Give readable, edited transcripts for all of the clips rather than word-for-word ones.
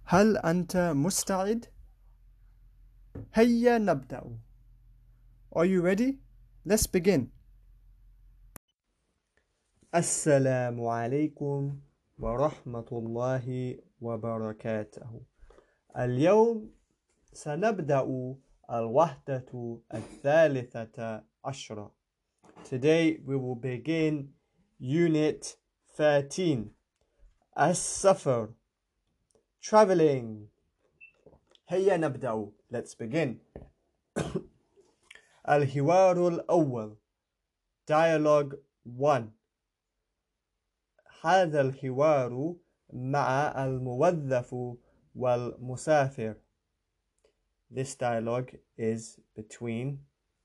هل أنت مستعد؟ هيا نبدأ. Are you ready? Let's begin. السلام عليكم ورحمة الله وبركاته. اليوم سنبدأ الوحدة الثالثة عشرة. Today we will begin Unit 13. السفر. Traveling. هيا نبدأ. Let's begin. الحوار الأول. Dialogue 1. هذا الحوار مع الموظف والمسافر. This dialogue is between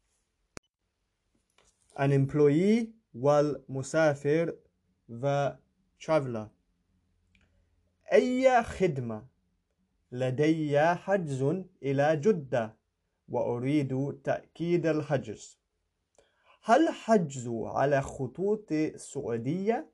an employee والمسافر, the traveler. أي خدمة؟ لدي حجز إلى جدة وأريد تأكيد الحجز. هل حجز على خطوط السعودية؟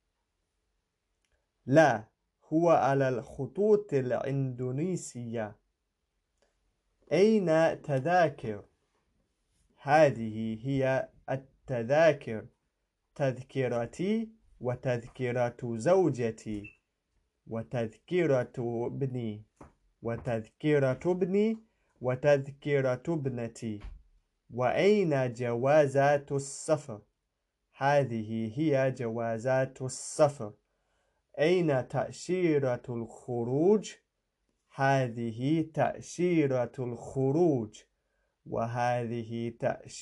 لا، هو على الخطوط الإندونيسية. أين تذاكر؟ هذه هي التذاكر، تذكرتي وتذكرة زوجتي وتذكرة ابني وتذكرة ابني وتذكرة ابنتي. وأين جوازات السفر؟ هذه هي جوازات السفر. أين تأشيرة الخروج؟ هذه تأشيرة الخروج. وهذه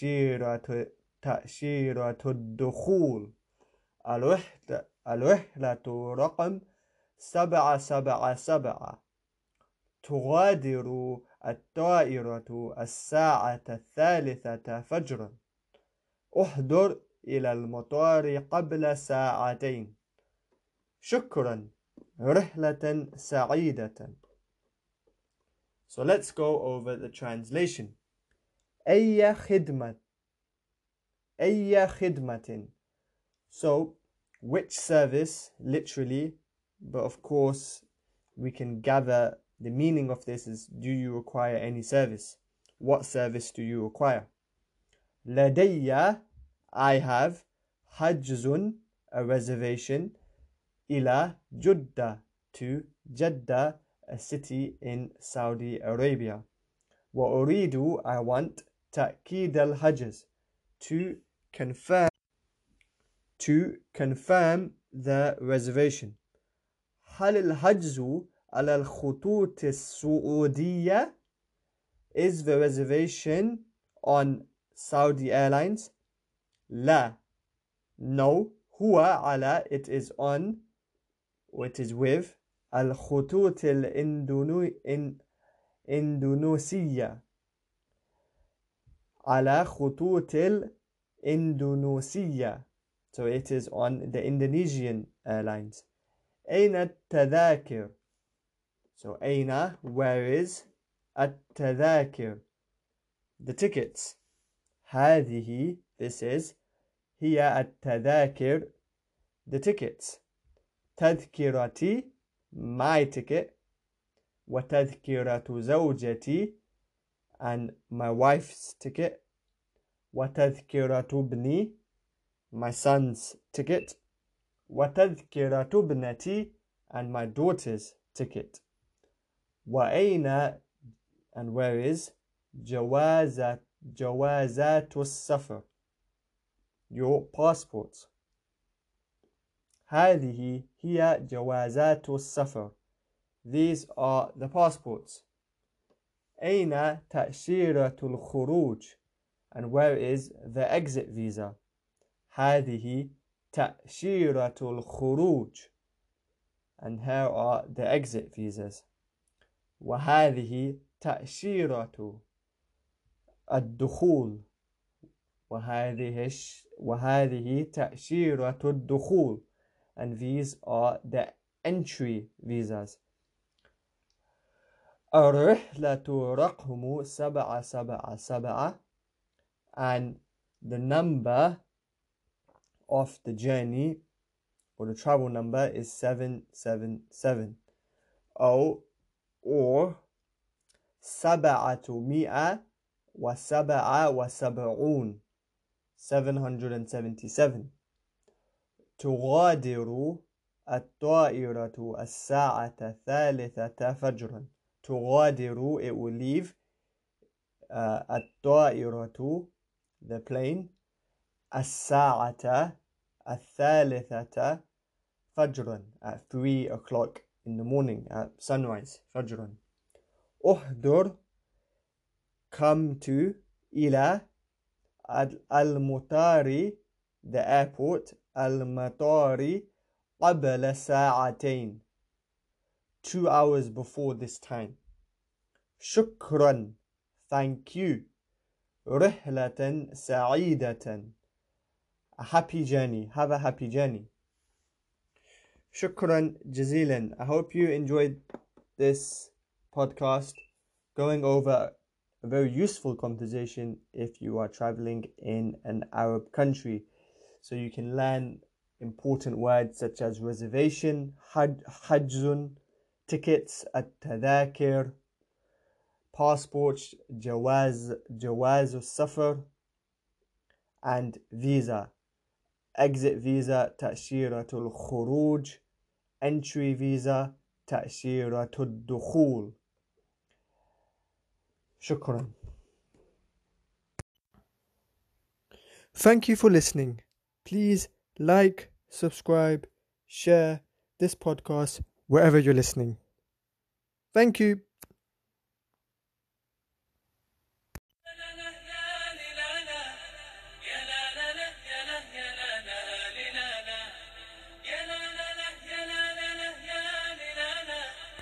تأشيرة الدخول. الرحلة رقم 777. تغادر الطائرة الساعة 3 فجرا. احضر إلى المطار قبل ساعتين. شكرا. رحلة سعيدة. So let's go over the translation. أي خدمة. أي خدمة. So which service, literally, but of course we can gather the meaning of this is, do you require any service? What service do you require? لدي, I have, حجز, a reservation, إلى جدة, to Jeddah, a city in Saudi Arabia. وأريد, I want, تأكيد الحجز, to confirm the reservation. هل الحجز على الخطوط السعودية? Is the reservation on Saudi Airlines? لا. No. هو على, it is on, or it is with, الخطوط الإندونيسية. على خطوط الإندونيسية. So it is on the Indonesian airlines. أين التذاكر? So أين, where is, التذاكر, the tickets. هذه, this is, هي التذاكر, the tickets. تذكرتي, my ticket. وتذكرة زوجتي, and my wife's ticket. وتذكرة ابني, my son's ticket. وتذكرة ابنتي, and my daughter's ticket. وأين, and where is, جوازات السفر, your passports. هذه هي جوازات السفر. These are the passports. أين تأشيرة الخروج, and where is the exit visa? هذه تأشيرة الخروج, and here are the exit visas. وهذه تأشيرة الدخول. وهذه تأشيرة الدخول, and these are the entry visas. الرحلة رقم 777, and the number of the journey, or the travel number, is 777. أو or 777 777. تغادر الطائرة الساعة 3 فجرا. تغادر, it will leave. الطائرة, the plane. الساعة 3 فجرا, at 3 o'clock in the morning, at sunrise. فجرا. احضر, come to. إلى المطار, the airport. المطار قبل ساعتين, 2 hours before this time. شكرا, thank you. رحلة سعيدة, a happy journey, have a happy journey. شكرا جزيلا. I hope you enjoyed this podcast, going over a very useful conversation if you are traveling in an Arab country, so you can learn important words such as reservation, حجز, tickets, التذاكر, passports, جواز السفر, and visa, exit visa, تأشيرة الخروج, entry visa, تأشيرة الدخول. شكرا. Thank you for listening. Please like, subscribe, share this podcast wherever you're listening. Thank you.